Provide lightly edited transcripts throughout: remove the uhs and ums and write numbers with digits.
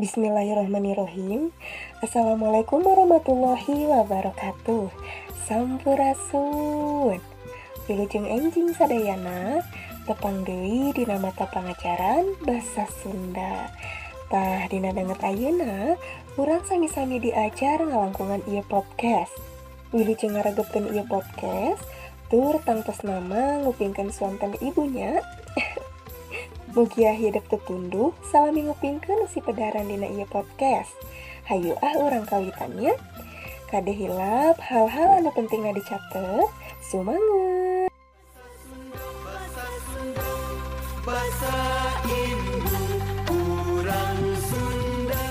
Bismillahirrahmanirrahim. Assalamualaikum warahmatullahi wabarakatuh. Sampurasun. Wilujeng enjing sadayana tepang deui dina mata pangajaran basa Sunda. Tah dina danget ayeuna urang sami-sami diajar ngalangkungan ieu podcast. Wilujeng ngaregepkeun ieu podcast tur tangtos nama ngupingkeun swanten ibunya. Mugia hidup tutunduh salami ngupingkeun si pedaran dina ieu podcast. Hayu urang kawitannya. Kade hilap hal-hal anu pentingna dicatet. Sumanget. Bahasa Ibu urang Sunda.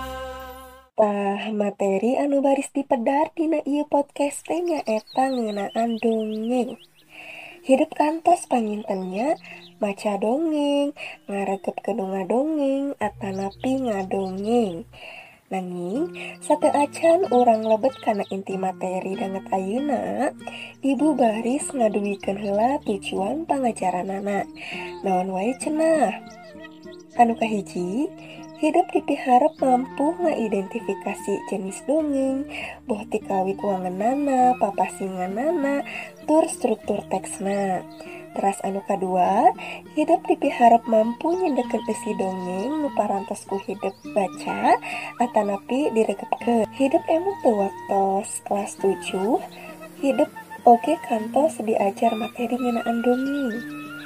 Tah materi anu baris dipedar dina ieu podcast teh nyaeta ngeunaan dongeng. Hidup kantos pangintennya maca dongeng, ngaregep ngadongeng, atanapi ngadongeng. Nanging sateu acan urang lebet kana inti materi danget ayeuna, ibu baris ngaduwikeun heula tujuan pangajaranana. Naon wae cenah? Anu kahiji, hidup dipiharep mampu ngaidentifikasi jenis dongeng, boh ti kawit wangeunana, papasinganana, tur struktur teksna. Teras anu kadua, hidup dipiharep mampu nyendekeun isi dongeng nu parantos ku hidup baca atanapi diregepkeun. Hidup emang teu waktos kelas 7, hidup oge kantos diajar materi ngeunaan dongeng.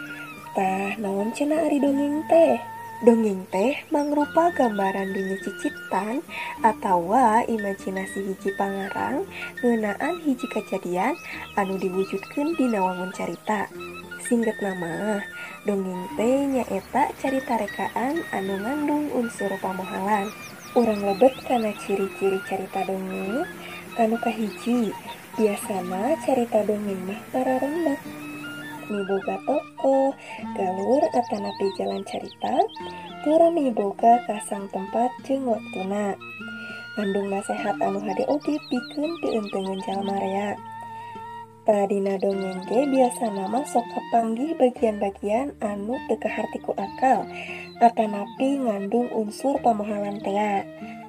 Tah naon cenah ari dongeng teh? Dongeng teh mangrupa gambaran dunia cicitan atawa imajinasi hiji pangarang ngeunaan hiji kejadian anu diwujudkeun dina wangun carita. Singget nama, dongeng teh nyaeta carita rekaan anu ngandung unsur pamohalan. Urang lebet kana ciri-ciri carita dongeng. Anu kahiji, biasana carita dongeng mah pararengna. Miboga tokoh, galur atanapi jalan carita, tur miboga kasang tempat jeung waktuna. Ngandung nasehat anu hade oge pikeun dieunteukeun jalma rea. Dina dongeng ge biasana mah sok kapanggih bagian-bagian anu teu kaharti ku akal atanapi ngandung unsur pamohalan tea.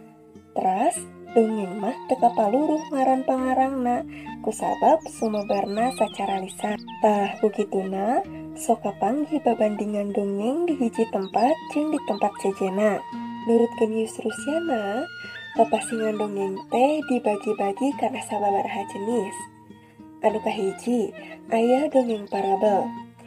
Teras dongeng mah teu kapaluruh ngaran pangarangna kusabab sumebarna sacara lisan. Tah kukituna sok kapanggih babandingan dongeng di hiji tempat jeung di tempat sejenna. Nurutkeun Yusrusyana, papasingan dongeng teh dibagi-bagi kana sababaraha jenis. Anu kahiji, aya dongeng parabel.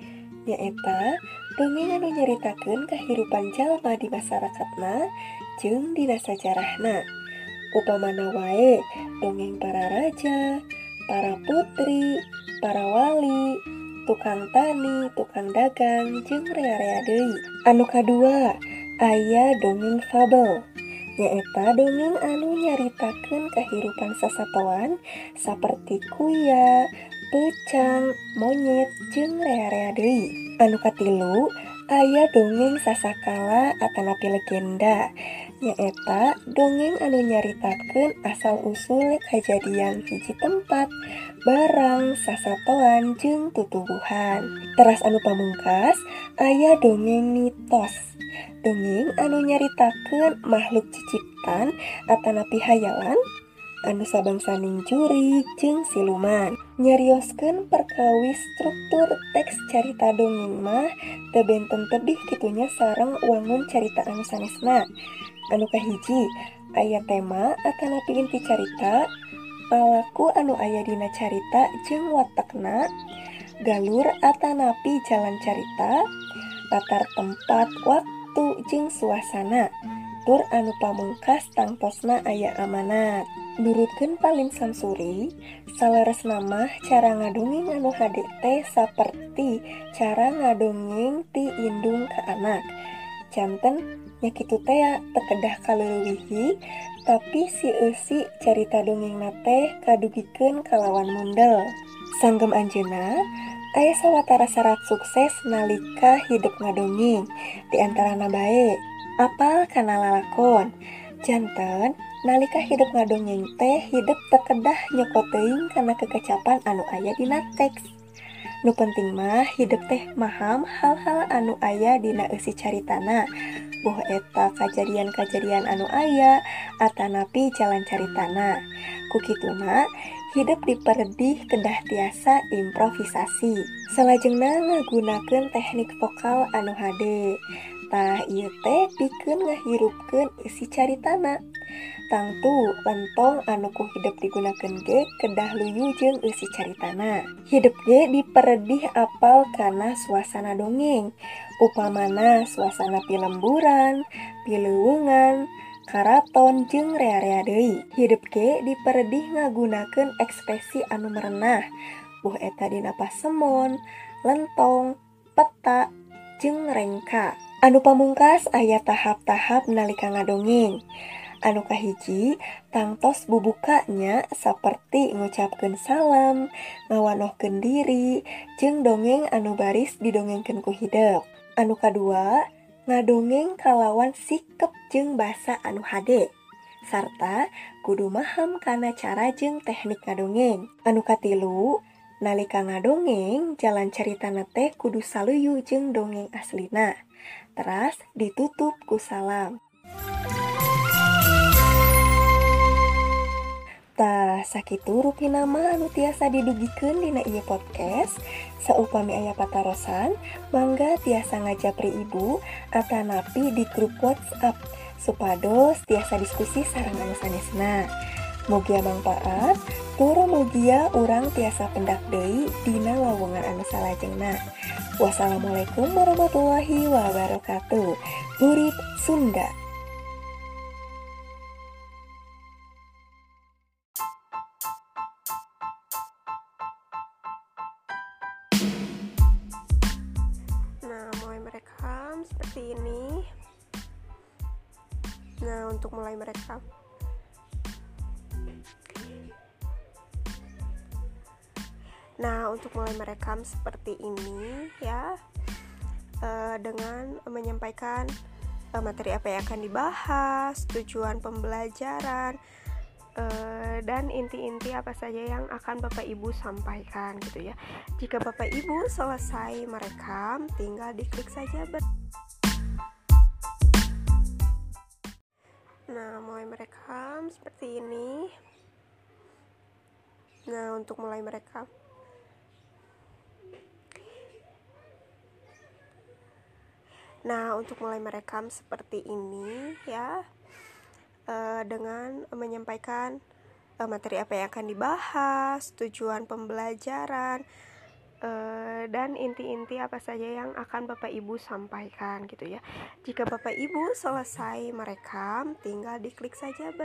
Nyaeta dongeng anu nyaritakeun kahirupan jalma di masyarakatna jeung dina sajarahna. Upamana wae dongeng para raja, para putri, para wali, tukang tani, tukang dagang, jeung rea-rea deui. Anu kadua, aya dongeng fabel. Nyaeta dongeng anu nyaritakeun kahirupan sasatoan saperti kuya, peucang, monyet, jeung rea-rea deui. Anu katilu, aya dongeng sasakala atanapi legenda. Nyaeta dongeng anu nyaritakeun asal-usul kajadian hiji tempat, barang, sasatoan, jeung tutuwuhan. Teras anu pamungkas, aya dongeng mitos. Dongeng anu nyaritakeun makhluk ciciptan atanapi hayalan anu sabangsaning jurig jeung siluman. Nyarioskeun perkawis struktur teks carita dongeng mah teu benten tebih kitunya sareng wangun carita anu sanesna. Anu kahiji, aya tema atanapi inti carita, palaku anu aya dina carita jeung watekna, galur atanapi jalan carita, latar tempat waktu jeung suasana. Tur anu pamungkas tangtosna aya amanat. Nurutkeun Palim Samsuri, saleresna mah cara ngadongeng anu hade teh saperti cara ngadongeng ti indung ka anak. Janten nya kitu teh teu kedah kaleuwihi, tapi si eusi carita dongengna teh kadugikeun kalawan mundel. Sanggem anjeunna aya sawatara syarat sukses nalika hidup ngadongeng. Di antarana bae, apal kana lalakon. Janten nalika hidup ngadongeng teh hidup teu kedah nyokot teuing kana kekecapan anu aya dina teks. Nu penting mah hidup teh maham hal-hal anu aya dina eusi caritana. boh eta kajadian-kajadian anu aya atanapi jalan caritana. Kukituna hidup diperedih kedah tiasa improvisasi. Salajengna ngagunakeun teknik vokal anu hade. Tah ieu teh pikeun ngahirupkeun isi caritana. Tangtu lentong anu ku hidup digunakeun ge kedah luyu jeung eusi caritana. Hidup ge diperedih apal kana suasana dongeng. Upamana suasana pilemburan, pileuweungan, karaton jeung rea-rea deui. Hidup ge diperedih ngagunakeun ekspresi anu merenah. Boh eta dina pasemon, lentong, peta, jeung rengka. Anu pamungkas aya tahap-tahap nalika ngadongeng. Anu kahiji, tangtos bubukanya saperti ngucapkeun salam, ngawanohkeun diri, jeung dongeng anu baris didongengkeun ku hideuk. Anu kadua, ngadongeng kalawan sikep jeung basa anu hade, sarta kudu maham kana cara jeung teknik ngadongeng. Anu katilu, nalika ngadongeng jalan caritana teh kudu saluyu jeung dongeng aslina. Teras ditutup ku salam. Tah sakitu rupina mah anu tiasa didugikeun dina ieu podcast. Saupami aya patarosan, mangga tiasa ngajapri ibu atanapi di grup WhatsApp supados tiasa diskusi sareng anu sanesna. Mugia mangpaat, tur mugia urang tiasa pendak deui dina lowongan anu salajengna. Wassalamualaikum warahmatullahi wabarakatuh. Urip Sunda. Nah, mulai merekam seperti ini. Nah, untuk mulai merekam. Seperti ini ya, dengan menyampaikan materi apa yang akan dibahas, tujuan pembelajaran, dan inti-inti apa saja yang akan Bapak Ibu sampaikan gitu ya. Jika Bapak Ibu selesai merekam, tinggal diklik saja Nah, mulai merekam seperti ini. Nah, untuk mulai merekam. Seperti ini ya, dengan menyampaikan materi apa yang akan dibahas, tujuan pembelajaran, dan inti-inti apa saja yang akan Bapak Ibu sampaikan gitu ya. Jika Bapak Ibu selesai merekam, tinggal diklik saja